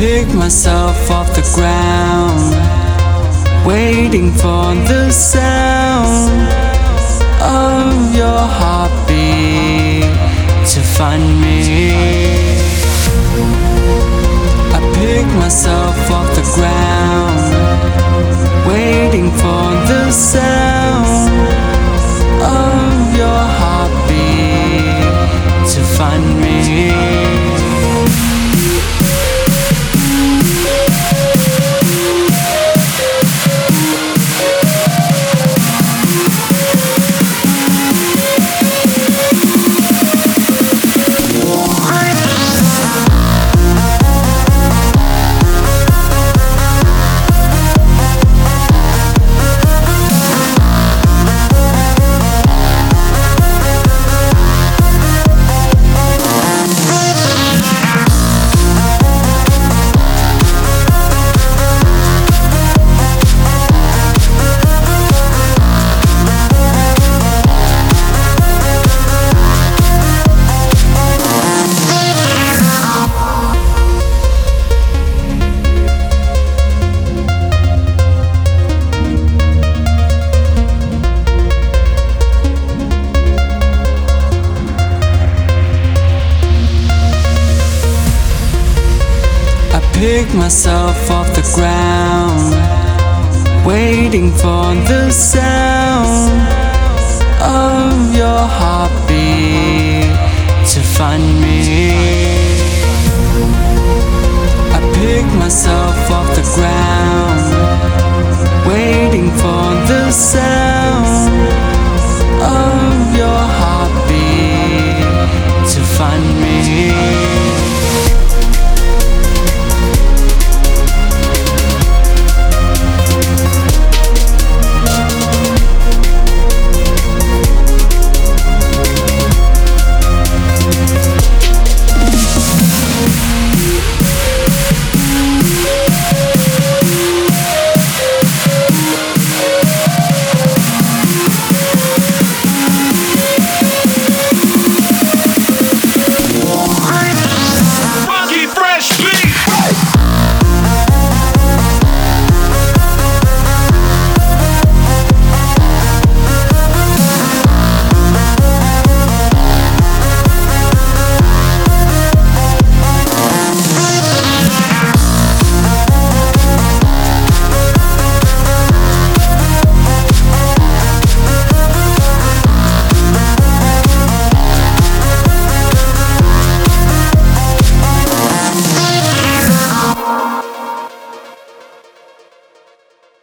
pick myself off the ground, waiting for the sound of your heartbeat to find me. I pick myself off the ground, waiting for the sound of your heartbeat to find me. Pick myself off the ground, waiting for the sound of your heartbeat to find me.